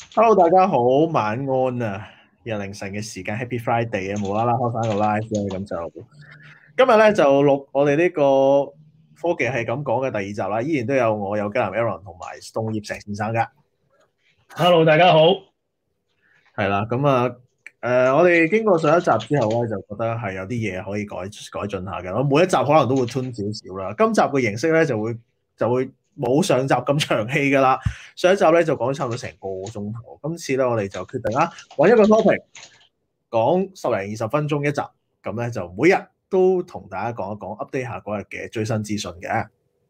Hello，大家好，晚安啊！日凌晨嘅時間，Happy Friday 啊，無啦啦開翻個 live 咧，咁就今日咧就錄我哋呢個科技係咁講嘅第二集啦，依然都有我有吉南 Aaron 同埋 Stone 葉石先生噶。 Hello，大家好。 係啦，咁啊，我哋經過上一集之後咧，就覺得係有啲嘢可以改進下嘅。我每一集可能都會 tune 少少啦。今集嘅形式咧就會冇上集咁長氣噶啦。上一集咧就講咗差唔多成個鐘頭，今次咧我哋就決定啦，揾一個 topic 講10-20分鐘一集，咁咧就每日都同大家講一講 update 下嗰日嘅最新資訊嘅。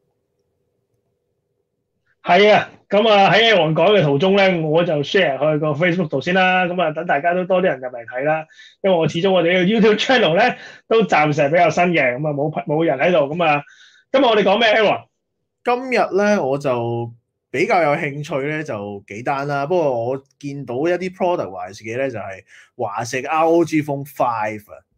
係啊，咁啊喺黃講嘅途中咧，我就 share 去個 Facebook 度先啦。咁啊，等大家都多啲人入嚟睇啦。因為我始終呢個 YouTube channel 咧都暫時係比較新嘅，咁啊冇人喺度。咁啊，今日我哋講咩 Aaron？ 今日咧我就比較有興趣咧，就幾單啦。不過我見到一啲 product-wise 嘅咧，就係華碩 ROG Phone 5啊。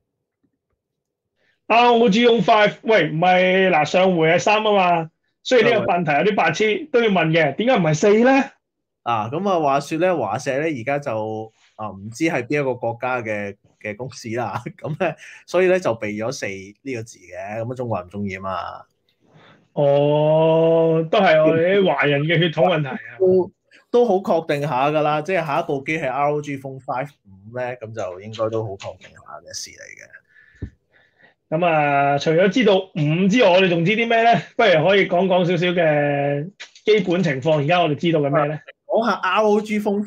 ROG Phone 5，喂，唔係嗱，上回係3啊嘛。雖然呢個問題有啲白痴，都要問嘅，點解唔係4咧？ 咁啊，話說咧，華碩咧而家就唔知係邊一個國家嘅公司啦。咁咧，所以咧就避咗4呢個字嘅。咁啊，中國人唔中意啊嘛。 哦，都係我哋啲華人嘅血統問題啊。 都好確定下㗎啦，即係下一部機係 ROG Phone 5咧，咁就應該都好確定下嘅事嚟嘅。 咁啊，除咗知道5之外，我哋仲知啲咩咧？不如可以講講少少嘅基本情況。而家我哋知道嘅咩咧？ 講下 ROG Phone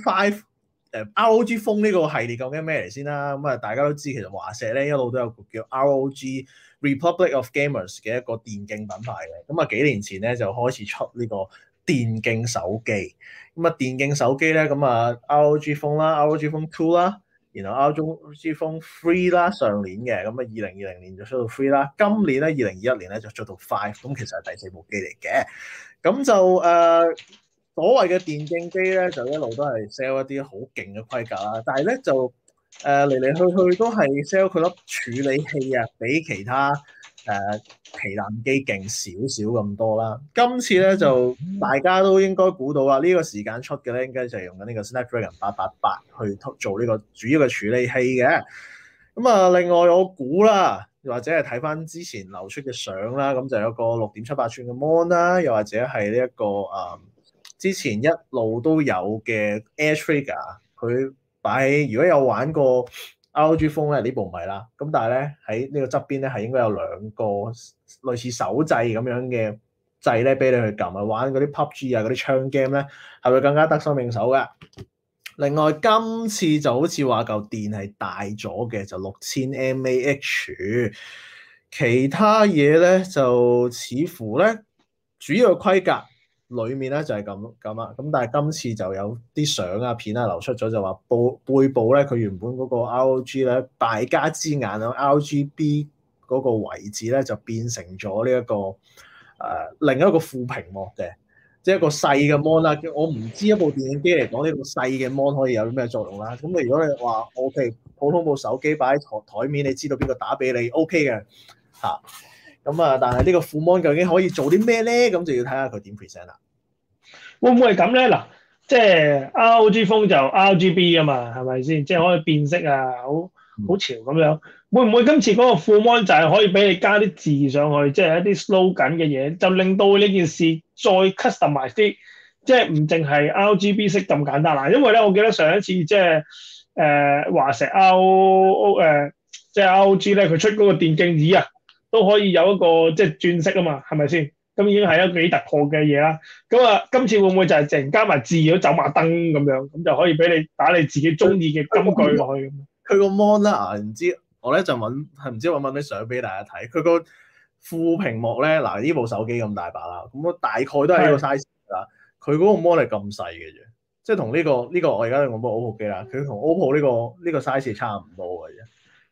5，ROG Phone 呢個系列究竟咩嚟先啦？咁啊，大家都知其實華碩咧一路都有個叫 ROG Republic of Gamers 嘅一個電競品牌嘅。咁啊，幾年前咧就開始出呢個電競手機。咁啊，電競手機咧，咁啊 ROG Phone 啦，ROG Phone 2啦，然後 ROG Phone 3啦，上年嘅，咁啊2020年就出到3啦，今年咧2021年咧就出到5，咁其實係第4部機嚟嘅。咁就所謂嘅電競機咧，就一路都係 sell 一啲好勁嘅規格啦，但係咧就嚟嚟去去都係 sell 佢粒處理器啊，比其他旗艦機勁少少咁多啦。今次咧就大家都應該估到啦，呢個時間出嘅咧應該就係用緊呢個 Snapdragon 888去做呢個主要嘅處理器嘅。咁啊，另外我估啦，或者係睇翻之前流出嘅相啦，咁就有個6.78寸嘅 mon 啦，又或者係呢一個之前一路都有嘅 Air Trigger，佢擺喺如果有玩過 ROG Phone 咧，呢部唔係啦。咁但係咧喺呢個側邊咧係應該有2個類似手掣咁樣嘅掣咧，俾你去撳啊，玩嗰啲 PUBG 啊嗰啲槍 game 咧，係會更加得心應手嘅。另外今次就好似話嚿電係大咗嘅，就6000 mAh。其他嘢咧就似乎咧主要嘅規格裏面咧就係咁啦，咁但係今次就有啲相啊片啊流出咗，就話背部咧佢原本嗰個 ROG 咧敗家之眼啊 RGB 嗰個位置咧就變成咗呢一個另一個副屏幕嘅，即係一個細嘅 mon 啦。我唔知一部電影機嚟講呢個細嘅 mon 可以有啲咩作用啦。咁如果你話 OK 普通部手機擺喺台面，你知道邊個打俾你 OK 嘅嚇。咁但係呢個副 mon 究竟可以做啲咩咧？咁就要睇下佢點 present 啦。 會唔會係咁咧？嗱，即係 ROG Phone 就 RGB 啊嘛，係咪先？即係可以變色啊，好潮咁樣。會唔會今次嗰個副 mon 就係可以俾你加啲字上去，即係一啲 slogan 嘅嘢，就令到呢件事再 customize 啲，即係唔淨係 RGB 色咁簡單啦。因為咧，我記得上一次即係華碩 即係 ROG 咧，佢出嗰個電競椅啊，都可以有一個即係轉色啊嘛，係咪先？咁已經係一個幾突破嘅嘢啦。咁啊，今次會唔會就係淨加埋字咗走馬燈咁樣，咁就可以俾你打你自己中意嘅金句落去咁？ 佢個 mon 啦唔知我咧就唔知揾啲相俾大家睇。佢個副屏幕咧，嗱呢部手機咁大把啦，咁我大概都係呢個 size 啦。佢嗰個 mon 係咁細嘅啫，即係同呢個我而家用部 OPPO 機啦，佢同 OPPO 呢個 size 差唔多嘅啫。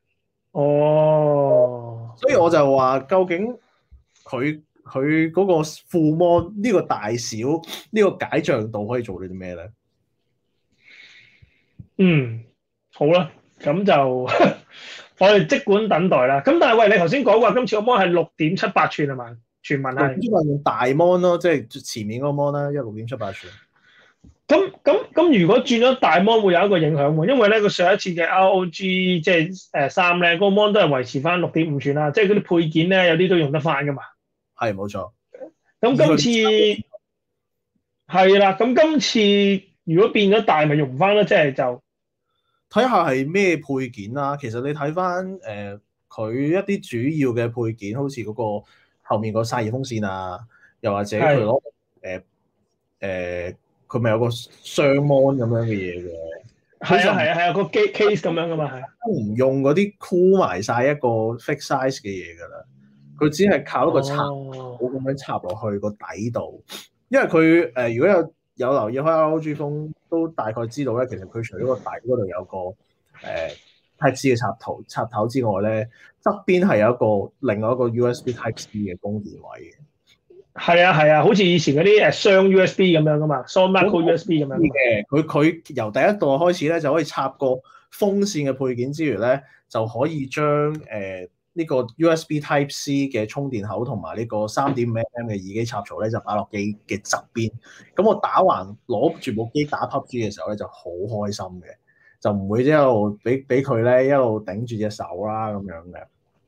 哦， 所以我就話，究竟佢嗰個副 mon 呢個大小呢個解像度可以做到啲咩咧？ 嗯，好啦，咁就我哋即管等待啦。咁但係喂，你頭先講話今次個 mon 係6.78寸係嘛？傳聞係。 用大 mon 咯，即係前面嗰個 mon 啦，6.78寸。 咁，如果轉咗大 mon 會有一個影響喎，因為咧佢上一次嘅 ROG 即係3咧，嗰個 mon 都係維持翻6.5寸啦，即係嗰啲配件咧有啲都用得翻噶嘛。 係冇錯。 咁今次係啦，咁今次如果變咗大，咪用唔翻咯，即係就睇下係咩配件啦。其實你睇翻佢一啲主要嘅配件，好似嗰個後面個散熱風扇啊，又或者佢攞佢咪有個雙 mon 咁樣嘅嘢嘅。 係個 case 咁樣噶嘛，係。 都唔用嗰啲箍埋晒一個 fixed size 嘅嘢㗎啦，佢只係靠一個插口咁樣插落去個底度。因為佢如果有留意開 ROG 風，都大概知道咧，其實佢除咗個底嗰度有個Type C 嘅插頭之外咧，側邊係有另外一個 USB Type C 嘅供電位嘅。 係啊，好似以前嗰啲雙 USB 咁樣噶嘛，雙 micro USB 咁樣嘅。佢由第一代開始咧，就可以插個風扇嘅配件之餘咧，就可以將呢個 USB Type C 嘅充電口同埋呢個3.5mm 嘅耳機插槽咧，就擺落機嘅側邊。咁我打橫攞住部機打 PUBG 嘅時候咧，就好開心嘅，就唔會一路俾佢咧一路頂住隻手啦咁樣嘅。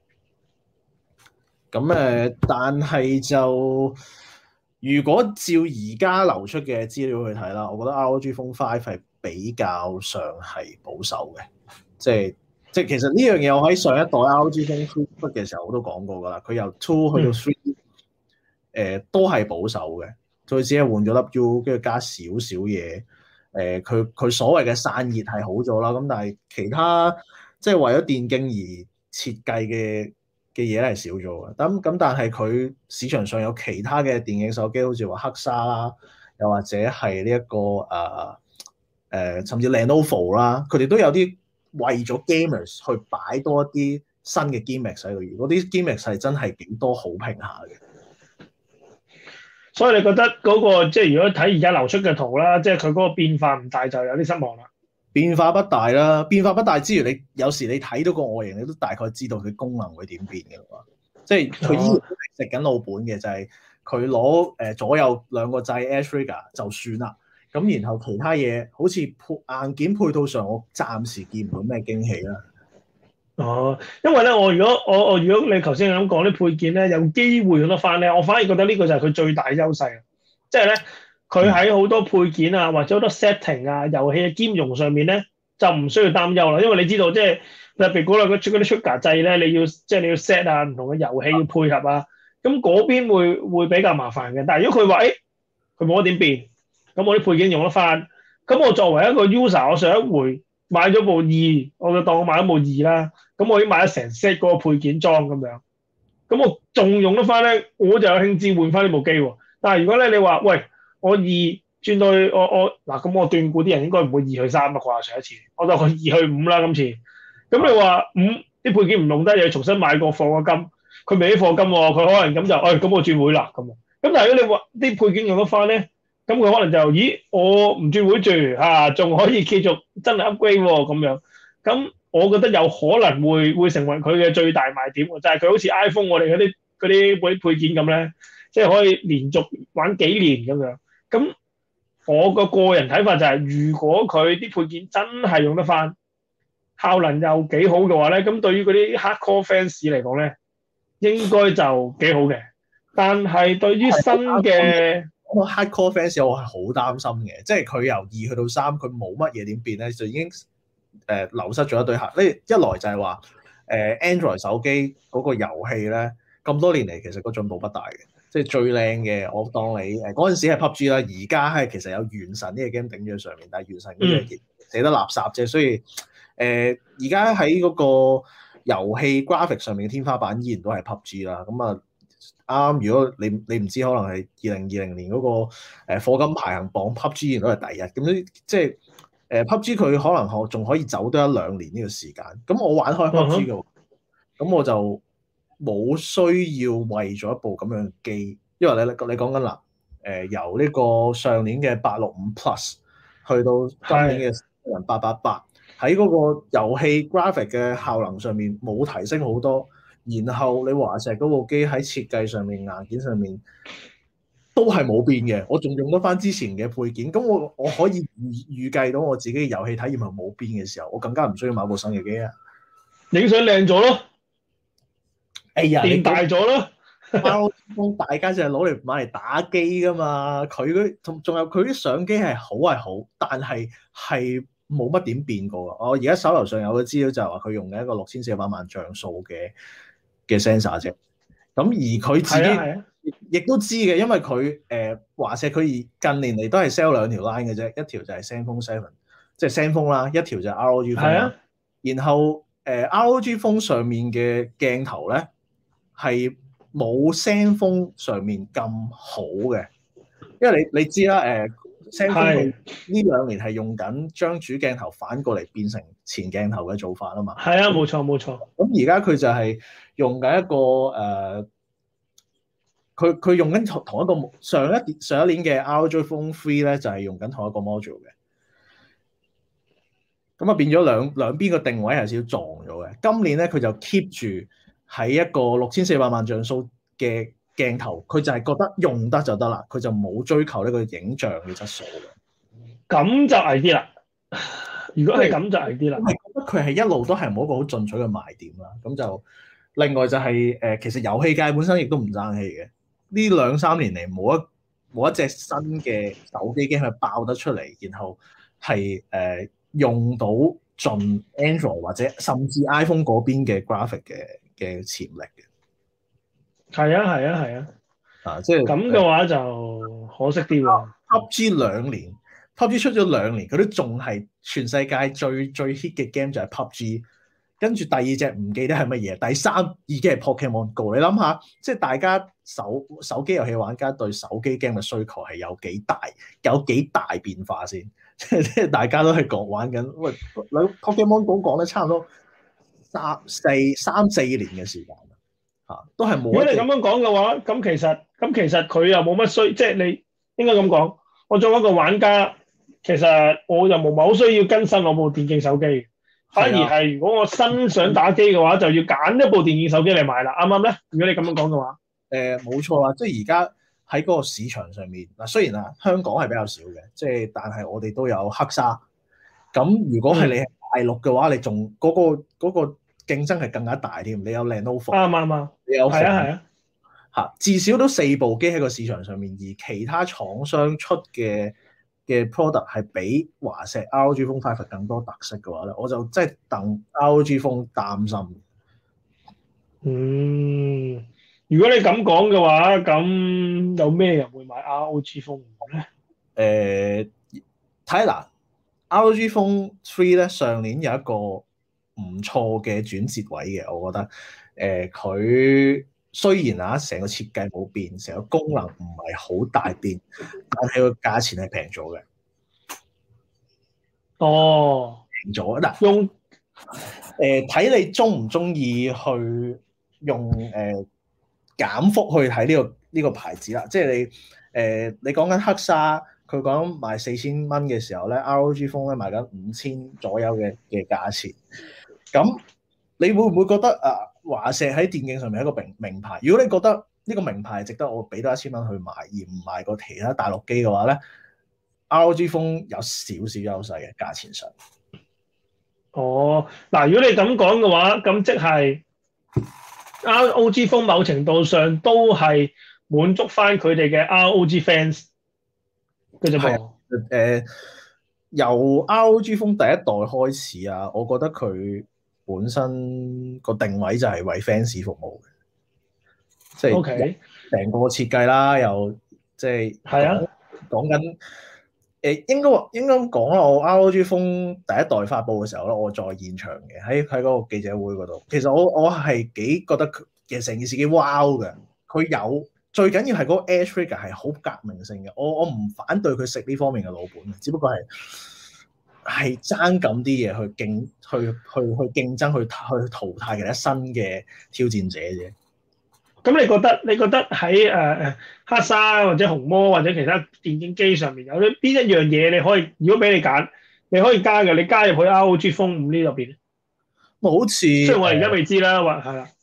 咁但係就如果照而家流出嘅資料去睇啦，我覺得 ROG Phone 5係比較上係保守嘅，即係其實呢樣嘢我喺上一代 ROG Phone 3出嘅時候我都講過㗎啦，佢由2去到3，都係保守嘅，佢只係換咗粒 U， 跟住加少少嘢，佢所謂嘅散熱係好咗啦，咁但係其他即係為咗電競而設計嘅嘢係少咗嘅，咁但係佢市場上有其他嘅電競手機，好似話黑沙啦，又或者係呢一個甚至 Lenovo 啦，佢哋都有啲為咗 gamers 去擺多一啲新嘅 gimmicks 喺度，嗰啲 gimmicks 係真係幾多好評下嘅。 所以你覺得嗰個即係如果睇而家流出嘅圖啦，即係佢嗰個變化唔大，就有啲失望啦。 變化不大啦，變化不大之餘，你有時你睇到個外形，你都大概知道佢功能會點變嘅嘛。即係佢依然食緊老本嘅，就係佢攞左右兩個掣 Air Trigger 就算啦。咁然後其他嘢好似硬件配套上，我暫時見唔到咩驚喜啦。 因為咧，如果你頭先咁講啲配件咧，有機會用得翻咧，我反而覺得呢個就係佢最大優勢。即係咧，佢喺好多配件啊，或者好多 setting 啊、遊戲嘅兼容上面咧，就唔需要擔憂啦。因為你知道，即係特別嗰類嗰啲 trigger 掣咧，你要 set 啊，唔同嘅遊戲要配合啊，咁嗰邊會比較麻煩嘅。但係如果佢話佢冇得點變，咁我啲配件用得翻，咁我作為一個 user，我上一回買咗部2，我就當我買咗部2啦。咁我已經買咗成 set 嗰個配件裝咁樣，咁我仲用得翻咧，我就有興致換翻呢部機喎。但係如果咧你話，喂，我2轉到去我嗱，咁我斷估啲人應該唔會2去3啊啩，上一次我當佢2去5啦今次。咁你話5啲配件唔用得，又要重新買個貨個金，佢未啲貨金喎，佢可能咁就，咁我轉會啦咁。咁但係如果你話啲配件用得翻咧，咁佢可能就，咦，我唔轉會住嚇，仲可以繼續真係 upgrade 喎咁樣，咁。我覺得有可能會成為佢嘅最大賣點，就係佢好似 iPhone 我哋嗰啲配件咁咧，即係可以連續玩幾年咁樣。咁我個人睇法就係，如果佢啲配件真係用得翻，效能又幾好嘅話咧，咁對於嗰啲 hardcore fans 嚟講咧，應該就幾好嘅。但係對於新嘅 hardcore fans，我係好擔心嘅，即係佢由2去到3，佢冇乜嘢點變咧，就已經流失咗一堆客。呢一來就係話Android 手機嗰個遊戲咧，咁多年嚟其實個進步不大嘅，即係最靚嘅我當你嗰陣時係 PUBG 啦，而家係其實有原神呢個 game 頂咗上面，但係原神嗰隻寫得垃圾啫，所以而家喺嗰個遊戲 graphic 上面嘅天花板依然都係 PUBG 啦。咁啊啱，如果你唔知，可能係2020年嗰個課金排行榜 PUBG 依然都係第一。咁即係PUBG 佢可能仲可以走多1-2年呢個時間。咁我玩開 PUBG 嘅，咁我就冇需要為咗一部咁樣嘅機，因為你講緊啦，由呢個上年嘅865 Plus 去到今年嘅888，喺嗰個遊戲 graphic 嘅效能上面冇提升好多。然後你華碩嗰部機喺設計上面、硬件上面都係冇變嘅，我仲用得翻之前嘅配件，咁我可以預計到我自己嘅遊戲體驗係冇變嘅時候，我更加唔需要買部新嘅機啊！ 影相靚咗咯， 哎呀， 變大咗咯。 ROG 大家就係攞嚟買嚟打機噶嘛，佢嗰仲有佢啲相機係好，但係冇乜點變過啊！我而家手頭上有個資料就係話佢用嘅一個6400萬像素嘅 sensor 啫，咁而佢自己亦都知嘅，因為佢華碩佢近年嚟都係 sell 兩條 line 嘅啫，一條就係 ZenFone 7，即係 ZenFone 啦，一條就係 ROG Phone 啦。然後ROG Phone 上面嘅鏡頭咧係冇 ZenFone 上面咁好嘅，因為你知啦ZenFone 呢兩年係用緊將主鏡頭反過嚟變成前鏡頭嘅做法啊嘛。 係啊，冇錯。 咁而家佢就係用緊一個佢用緊同一個上一年嘅 ROG Phone 3咧，就係用緊同一個 module 嘅。咁啊變咗兩邊個定位係少少撞咗嘅。今年咧佢就 keep 住喺一個6400萬像素嘅鏡頭，佢就係覺得用得就得啦，佢就冇追求呢個影像嘅質素嘅。 咁就危啲啦。如果係咁就危啲啦。 我係覺得佢係一路都係冇一個好進取嘅賣點啦。咁就另外就係其實遊戲界本身亦都唔爭氣嘅。呢2-3年嚟冇一隻新嘅手機 game 係爆得出嚟，然後係用到盡 Android 或者甚至 iPhone 嗰邊嘅 graphic 嘅潛力嘅。 係啊。 即係咁嘅話就可惜啲喎。 PUBG 出咗2年，佢都仲係全世界最 hit 嘅 game 就係 PUBG。跟住第二隻唔記得係乜嘢，第三已經係 Pokemon Go。你諗下，即係大家手機遊戲玩家對手機 game 嘅需求係有幾大變化先？即係大家都係玩緊，喂，Pokemon Go 講得差唔多3-4年嘅時間都係冇。如果你咁樣講嘅話，咁其實佢又冇乜即係你應該咁講。我作為一個玩家，其實我又冇乜好需要更新我部電競手機。反而係，如果我新想打機嘅話，就要揀一部電競手機嚟買啦，啱唔啱咧？如果你咁樣講嘅話， 冇錯啦，即係而家喺嗰個市場上面嗱，雖然香港係比較少嘅，即係但係我哋都有黑沙。咁如果係你係大陸嘅話，你仲嗰個競爭係更加大添。你有 Lenovo， 啱， 你有係啊，至少都4部機喺個市場上面，而其他廠商出嘅 product 係比華碩 ROG Phone 5更多特色嘅話咧，我就真係戥 ROG Phone 擔心。 如果你咁講嘅話，咁有咩人會買 ROG Phone 咧？睇嗱 ROG Phone 3咧，上年有一個唔錯嘅轉折位嘅，我覺得佢雖然成個設計冇變，成個功能唔係好大變，但係個價錢係平咗嘅。平咗嗱， 用睇你中唔中意去用減幅去睇呢個牌子啦。即係你講緊黑沙，佢講賣4000蚊嘅時候咧，ROG Phone 咧賣緊5000左右嘅價錢。咁你會唔會覺得華碩喺電競上面係一個名牌？如果你覺得呢個名牌係值得我俾多1000蚊去買，而唔買個其他大陸機嘅話咧，ROG Phone 有少少優勢嘅價錢上。 嗱，如果你咁講嘅話，咁即係 ROG Phone 某程度上都係滿足翻佢哋嘅 ROG fans 嘅啫噃。 由 ROG Phone 第一代開始啊，我覺得佢本身個定位就係為 fans 服務嘅，即係成個設計啦，又即係講緊應該咁講啦。我 ROG Phone 第一代發布嘅時候咧，我在現場嘅，喺嗰個記者會嗰度。其實我係幾覺得其實成件事幾 wow 嘅。佢有最緊要係嗰個 Edge Trigger 係好革命性嘅。我唔反對佢食呢方面嘅老本，只不過係爭咁啲嘢去競爭去淘汰其他新嘅挑戰者啫。 咁你覺得喺黑沙或者紅魔或者其他電競機上面有啲邊一樣嘢你可以，如果俾你揀，你可以加嘅，你加入去 ROG Phone 5呢入邊咧？ 好似雖然我而家未知啦，係啦。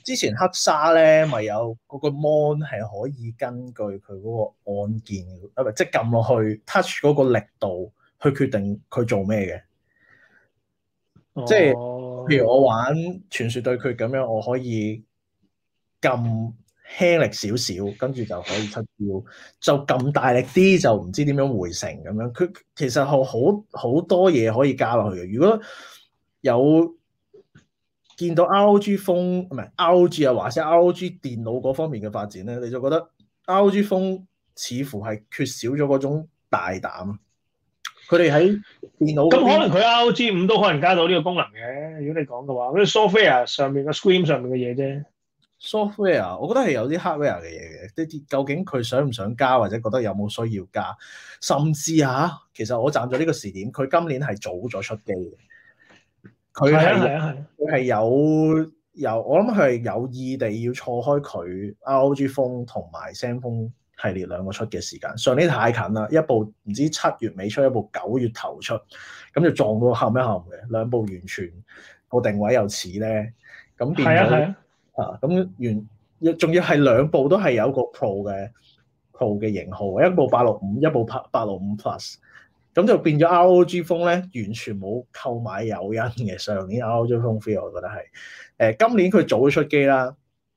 之前黑沙咧咪有嗰個 mon 係可以根據佢嗰個按鍵啊，即係撳落去 touch 嗰個力度去決定佢做咩嘅。即係譬如我玩傳說對決咁樣，我可以撳輕力少少，跟住就可以出招；就撳大力啲，就唔知點樣回城咁樣。佢其實好多嘢可以加落去嘅。如果有見到 ROG 風唔係 ROG 啊，或者 ROG 電腦嗰方面嘅發展咧，你就覺得 ROG 風似乎係缺少咗嗰種大膽。佢哋喺電腦咁可能佢 ROG 5都可能加到呢個功能嘅。如果你講嘅話，嗰啲 software 上面嘅 screen 上面嘅嘢啫。 software 我覺得係有啲 hardware 嘅嘢嘅，究竟佢想唔想加，或者覺得有冇需要加，甚至其實我站咗呢個時點，佢今年係早咗出機嘅。佢係有我諗佢係有意地要錯開佢 ROG Phone 同埋 Zenfone 系列兩個出嘅時間。上年太近啦，一部唔知7月尾出，一部9月頭出，咁就撞到冚一冚嘅，兩部完全個定位又似咧，咁變咗咁仲要係兩部都係有個 Pro 嘅型號，一部865，一部865 Plus。咁就變咗 ROG Phone 咧，完全冇購買誘因嘅。上年 ROG Phone 3，我覺得係今年佢早出機啦。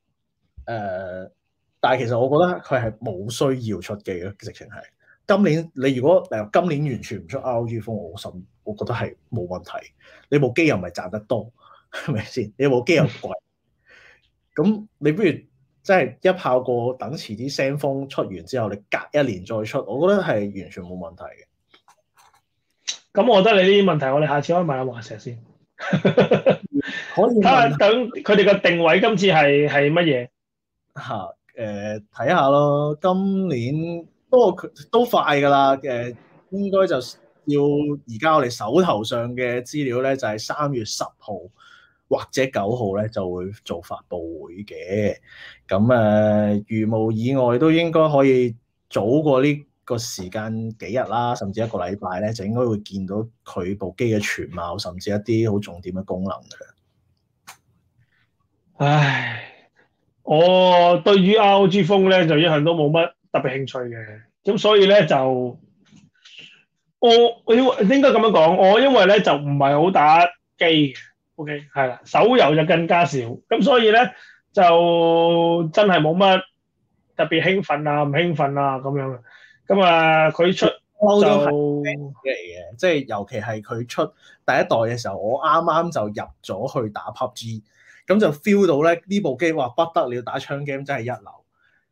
但係其實我覺得佢係冇需要出機嘅，直情係今年你如果今年完全唔出 ROG Phone，我覺得係冇問題。你部機又唔係賺得多，係咪先？你部機又貴，咁你不如真係一炮過等遲啲 Zenfone 出完之後，你隔1年再出，我覺得係完全冇問題嘅。 咁我覺得你呢啲問題，我哋下次可以問下華碩先， 可以睇下等佢哋個定位今次係乜嘢嚇？睇下咯。今年不過都快㗎啦。應該就要而家我哋手頭上嘅資料咧，就係3月10號或者9號咧就會做發佈會嘅。咁如無意外都應該可以早過呢個時間幾日啦，甚至1個禮拜咧，就應該會見到佢部機嘅全貌，甚至一啲好重點嘅功能嘅。 唉，我對於 ROG Phone 咧就一向都冇乜特別興趣嘅，咁所以咧就我應該咁樣講，我因為咧就唔係好打機嘅 ，OK 係啦，手遊就更加少，咁所以咧就真係冇乜特別興奮啊，唔興奮啊咁樣。咁佢出就嚟嘅，即係尤其係佢出第一代嘅時候，我啱啱就入咗去打 PUBG，咁就 feel 到咧呢部機話不得了，打槍 game 真係一流。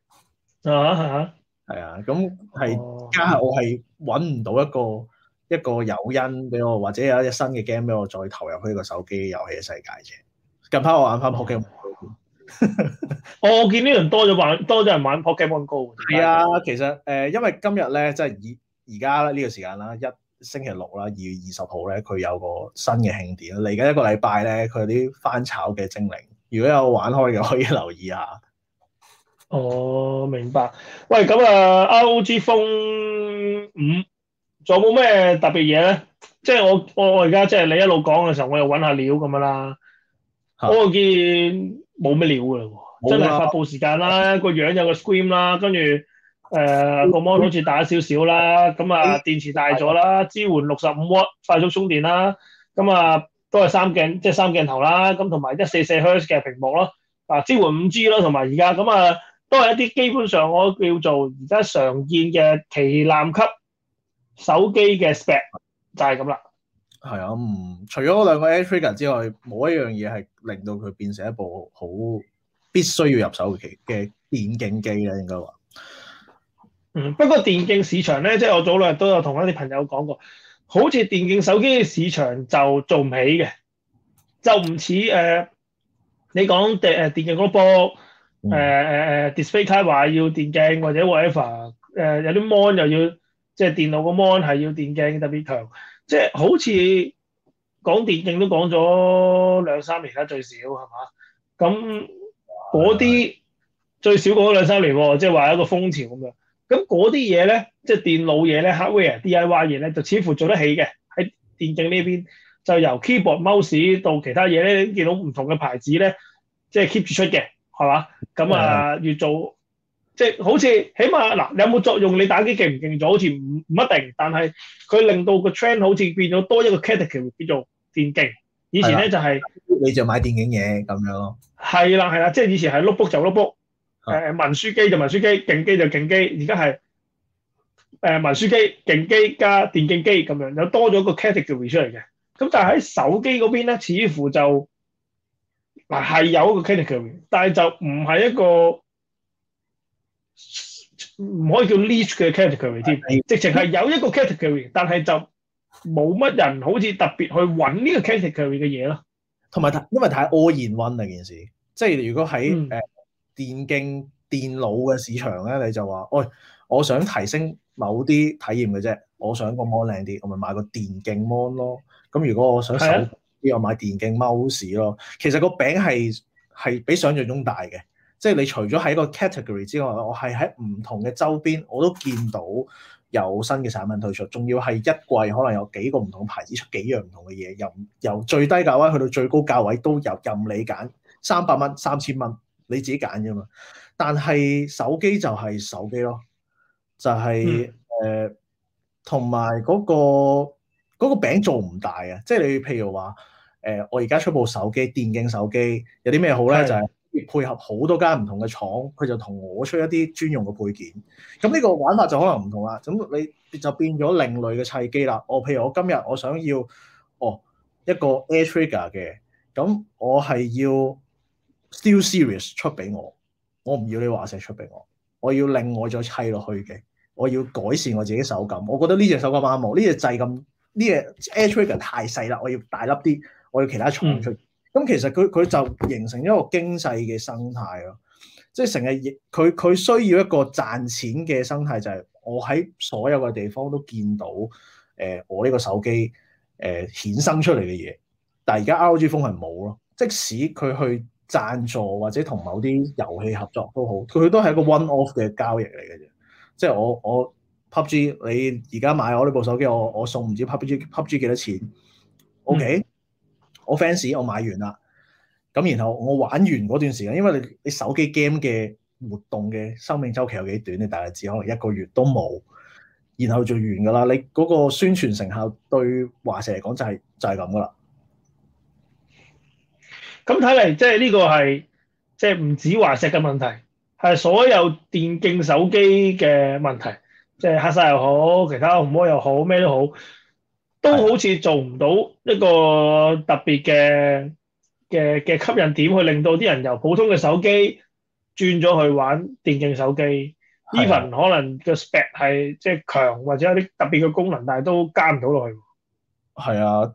係啊，咁係加我係揾唔到一個誘因俾我，或者有一隻新嘅 game 俾我再投入去呢個手機遊戲嘅世界啫。近排我玩翻 Pokemon。 我見呢輪多咗人玩 Pokemon Go。 係啊，其實因為今日咧，即係而家呢個時間啦，星期六啦，2月20號咧，佢有個新嘅慶典，嚟緊1個禮拜咧，佢有啲翻炒嘅精靈，如果有玩開嘅可以留意下。 哦，明白。喂，咁ROG Phone 5仲有冇咩特別嘢咧？即係我而家即係你一路講嘅時候，我又揾下料咁樣啦。我見冇咩料噶啦喎，真係發佈時間啦，個樣有個 screen 啦，跟住個 mon 好似大少少啦，咁電池大咗啦，支援65W 快速充電啦，咁都係3鏡頭啦，咁同埋144Hz 嘅屏幕咯，支援5G 咯，同埋而家咁都係一啲基本上我叫做而家常見嘅旗艦級手機嘅 spec 就係咁啦。 係啊，除咗嗰2個 Air Trigger 之外，冇一樣嘢係令到佢變成一部好必須要入手嘅電競機咧，應該話。 不過電競市場咧，即係我早兩日都有同一啲朋友講過，好似電競手機嘅市場就做唔起嘅，就唔似你講電競嗰波display 卡話要電競或者 whatever，有啲 mon 又要即係電腦個 mon 係要電競特別強。即係好似講電競都講咗2-3年啦，最少係嘛？咁嗰啲最少講咗2-3年喎，即係話一個風潮咁樣。咁嗰啲嘢咧，即係電腦嘢咧 ，hardware DIY 嘢咧，就似乎做得起嘅。喺電競呢邊，就由 keyboard、mouse 到其他嘢咧，見到唔同嘅牌子咧， 即係 keep 住出嘅，係嘛？咁啊，越做即係好似起碼嗱，有冇作用？你打機勁唔勁咗？好似唔一定，但係佢令到個 trend 好似變咗多一個 category 叫做電競。以前咧就係你就買電競嘢咁樣咯。係啦，即係以前係 notebook 就 notebook，文書機就文書機，勁機就勁機。而家係文書機、勁機加電競機咁樣，有多咗個 category 出嚟嘅。咁但係喺手機嗰邊咧，似乎就嗱係有一個 category，但係就唔係一個唔可以叫 niche 嘅 category 添，直情係有一個 category，但係就冇乜人好似特別去揾呢個 category 嘅嘢咯。 同埋因為太 all in one 啊件事，即係如果喺電競電腦嘅市場咧，你就話，喂，我想提升某啲體驗嘅啫，我想個 mon 靚啲，我咪買個電競 mon 咯。咁如果我想手機，我買電競 mouse 咯。其實個餅係比想像中大嘅，即係你除咗喺個 category 之外，我係喺唔同嘅周邊我都見到有新嘅產品推出，仲要係一季可能有幾個唔同牌子出幾樣唔同嘅嘢，由最低價位去到最高價位都有任你揀，300蚊、3000蚊你自己揀啫嘛。但係手機就係手機咯，就係同埋嗰個餅做唔大啊！即係你譬如話我而家出部手機電競手機有啲咩好咧？就係配合好多間唔同嘅廠，佢就同我出一啲專用嘅配件。咁呢個玩法就可能唔同啦。咁你就變咗另類嘅砌機啦。譬如我今日我想要一個 Air Trigger 嘅，咁我係要 Steel Series 出俾我唔要你華碩出俾我要另外再砌落去嘅，我要改善我自己手感。我覺得呢隻手感啱我，呢隻掣咁，呢隻 Air Trigger 太細啦，我要大粒啲，我要其他廠出。咁其實佢就形成一個經濟嘅生態咯，即係成日佢需要一個賺錢嘅生態，就係我喺所有嘅地方都見到我呢個手機衍生出嚟嘅嘢。但係而家 ROG Phone 係冇咯，即使佢去贊助或者同某啲遊戲合作都好，佢都係一個 one off 嘅交易嚟嘅啫。即係我 PUBG 你而家買我呢部手機，我送唔知 PUBG 幾多錢 ？OK。我 fans 我買完啦，咁然後我玩完嗰段時間，因為你手機 game 嘅活動嘅生命週期有幾短，你大概只可能1個月都冇，然後就完噶啦。你嗰個宣傳成效對華碩嚟講就係咁噶啦。 咁睇嚟，即係呢個係即係唔止華碩嘅問題，係所有電競手機嘅問題，即係黑晒又好，其他紅魔又好，咩都好。都好似做唔到一個特別嘅吸引點，去令到啲人由普通嘅手機轉咗去玩電競手機。Even 可能個 spec 係即係強，或者有啲特別嘅功能，但係都加唔到落去。 係啊，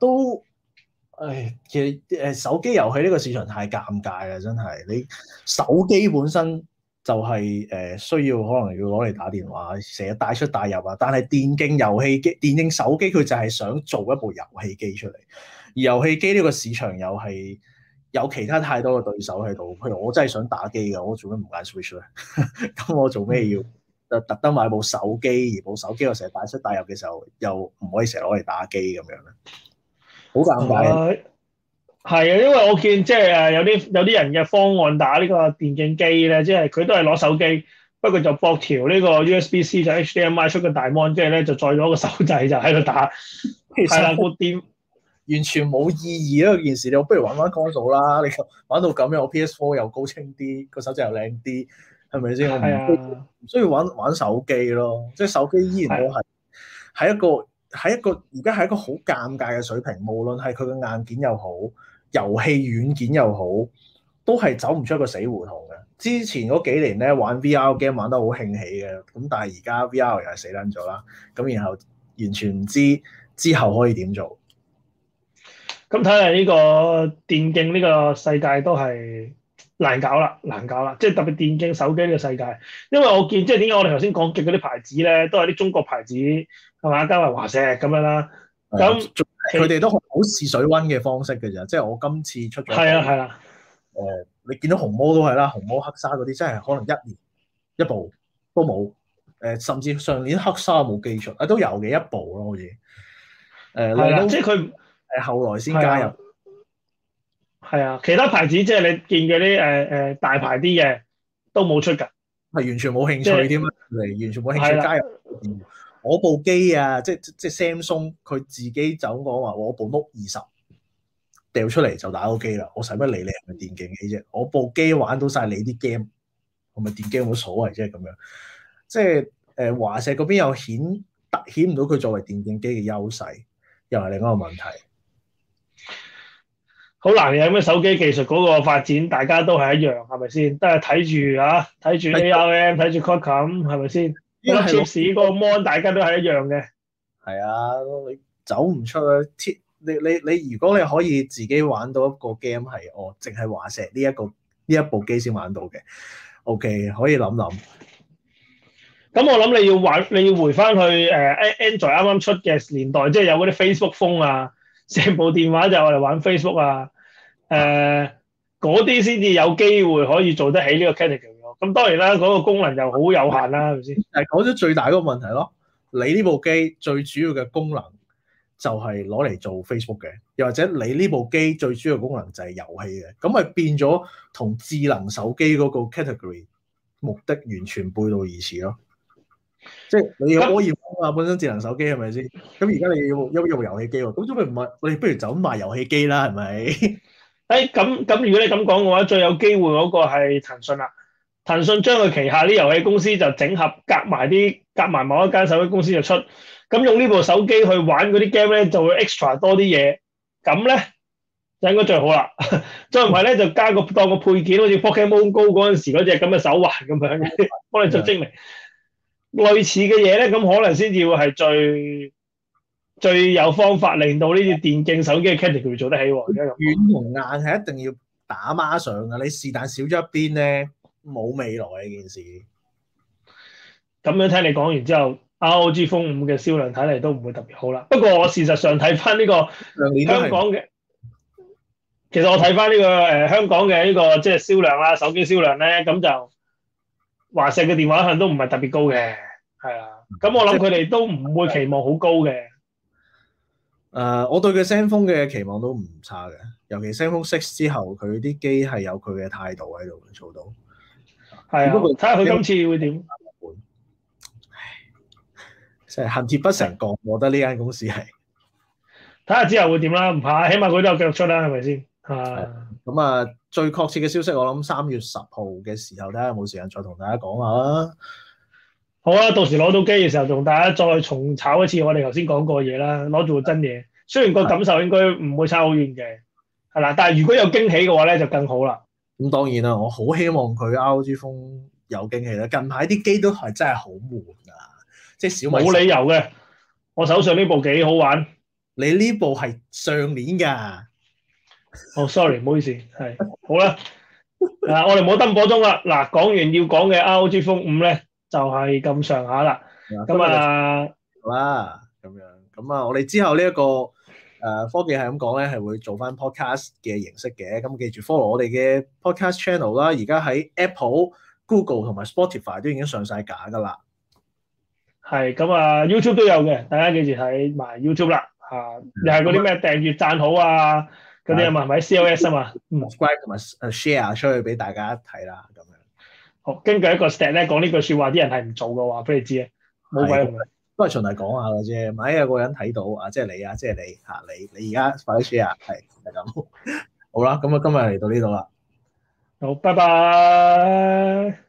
其實手機遊戲呢個市場太尷尬啦，真係。你手機本身就係需要可能要攞嚟打電話，成日帶出帶入啊。但係電競遊戲機、電競手機佢就係想做一部遊戲機出嚟，而遊戲機呢個市場又係有其他太多嘅對手喺度。譬如我真係想打機嘅，我做咩唔揀 Switch 咧？咁我做咩要特登買部手機？而部手機我成日帶出帶入嘅時候，又唔可以成日攞嚟打機咁樣咧？好尷尬。 係啊，因為我見即係有啲人嘅方案打呢個電競機咧，即係佢都係攞手機，不過就駁條呢個 USB-C 就 HDMI 出個大 mon，即係咧就再攞個手掣就喺度打。係啦，個電完全冇意義啊！件事你不如玩 console 啦，你玩到咁樣，我 PS4 又高清啲，個手掣又靚啲，係咪先？我唔需要玩手機咯，即係手機依然都係一個而家係一個好尷尬嘅水平，無論係佢嘅硬件又好，遊戲軟件又好，都係走唔出一個死胡同嘅。之前嗰幾年咧玩 VR game 玩得好興起嘅，咁但係而家 VR 又係死撚咗啦，咁然後完全唔知之後可以點做。 咁睇嚟呢個電競呢個世界都係難搞啦，即係特別電競手機呢個世界，因為我見即係點解我哋頭先講嘅嗰啲牌子咧，都係啲中國牌子係嘛，加埋華碩咁樣啦。咁佢哋都好試水溫嘅方式嘅咋，即係我今次出咗係啊。 你見到紅魔都係啦，紅魔黑沙嗰啲真係可能1年一部都冇，甚至上年黑沙冇記錯，都有嘅一部咯，好似係啦，即係佢後來先加入。 係啊，其他牌子即係你見嗰啲大牌啲嘅都冇出㗎， 係完全冇興趣添啊！嚟完全冇興趣加入。我部機啊，即 Samsung 佢自己走講話，我部 Note 20掉出嚟就打到機啦。我使乜理你係咪電競機啫？我部機玩到晒你啲 game，我咪電機冇所謂啫咁樣。即係華碩嗰邊又凸顯唔到佢作為電競機嘅優勢，又係另一個問題。 好難嘅，咁手機技術嗰個發展，大家都係一樣，係咪先？都係睇住 ARM， 睇住 Qualcomm， 係咪先？嗰個 chip 嗰個 mon， 大家都係一樣嘅。係啊，你走唔出啊！你如果你可以自己玩到一個 game 係淨係華碩呢一部機先玩到嘅 ，OK 可以諗諗。 咁我諗你要回翻去Android 啱啱出嘅年代，即係有嗰啲 Facebook phone 啊。成部電話就我哋玩 Facebook 啊，嗰啲先至有機會可以做得起呢個 category 咯。咁當然啦，嗰個功能又好有限啦，係咪先？係講咗最大嗰個問題咯。你呢部機最主要嘅功能就係攞嚟做 Facebook 嘅，又或者你呢部機最主要嘅功能就係遊戲嘅，咁咪變咗同智能手機嗰個 category 目的完全背道而馳咯。即係你要可以啊，本身智能手機係咪先？咁而家你要用遊戲機喎，咁做咩唔係？我哋不如就咁賣遊戲機啦，係咪？ 咁如果你咁講嘅話，最有機會嗰個係騰訊啦。騰訊將佢旗下啲遊戲公司就整合夾埋某一間手機公司就出，咁用呢部手機去玩嗰啲 game 咧，就會 extra 多啲嘢。咁咧就應該最好啦。再唔係咧，就加當個配件，好似 Pokemon Go 嗰陣時嗰隻咁嘅手環咁樣，幫你做精靈。類似嘅嘢咧，咁可能先至會係最有方法令到呢啲電競手機嘅 category 做得起喎。 軟同硬係一定要打孖上㗎，你是但少咗一邊咧，冇未來呢件事。 咁樣聽你講完之後 ，ROG Phone 5嘅銷量睇嚟都唔會特別好啦。不過我事實上睇翻呢個香港嘅，其實我睇翻呢個香港嘅呢個即係銷量啦，手機銷量咧，咁就華碩嘅電話向都唔係特別高嘅，係啊。咁我諗佢哋都唔會期望好高嘅。 我對佢 ZenFone 嘅期望都唔差嘅，尤其 ZenFone 6之後，佢啲機係有佢嘅態度喺度做到。 係啊，睇下佢今次會點。 即係恨鐵不成鋼，我覺得呢間公司係。 睇下之後會點啦，唔怕，起碼佢都有繼續出啦，係咪先？ 咁啊，最確切嘅消息，我諗3月10號嘅時候，睇下有冇時間再同大家講下啦。 好啊，到時攞到機嘅時候，同大家再重炒一次我哋頭先講過嘢啦，攞住個真嘢。雖然個感受應該唔會差好遠嘅，係啦，但係如果有驚喜嘅話咧，就更好啦。 咁當然啦，我好希望佢 ROG Phone 有驚喜啦。近排啲機都係真係好悶啊，即係小米冇理由嘅。我手上呢部幾好玩。 你呢部係上年㗎。 sorry， 唔好意思，係好啦。我哋唔好登火鐘啦。嗱，講完要講嘅 ROG Phone 5咧，就係咁上下啦。咁啊， 好啦，咁樣咁啊，我哋之後呢一個科技係咁講咧，係會做翻 podcast 嘅形式嘅。咁記住 follow 我哋嘅 podcast channel 啦。而家喺 Apple、Google 同埋 Spotify 都已經上晒架㗎啦。 係咁啊 ，YouTube 都有嘅，大家記住睇埋 YouTube 啦。又係嗰啲咩訂閱讚好啊嗰啲啊嘛，係咪 CLS 啊嘛 ？subscribe 同埋share 出去俾大家睇啦，咁樣。 好，根據一個 stat 咧講呢句説話，啲人係唔做嘅話，俾你知啊，冇鬼用嘅。 都係循例講下嘅啫。萬一有個人睇到啊，即係你啊，即係你嚇你而家快啲 share 係咁。好啦，咁啊今日嚟到呢度啦。 好，拜拜。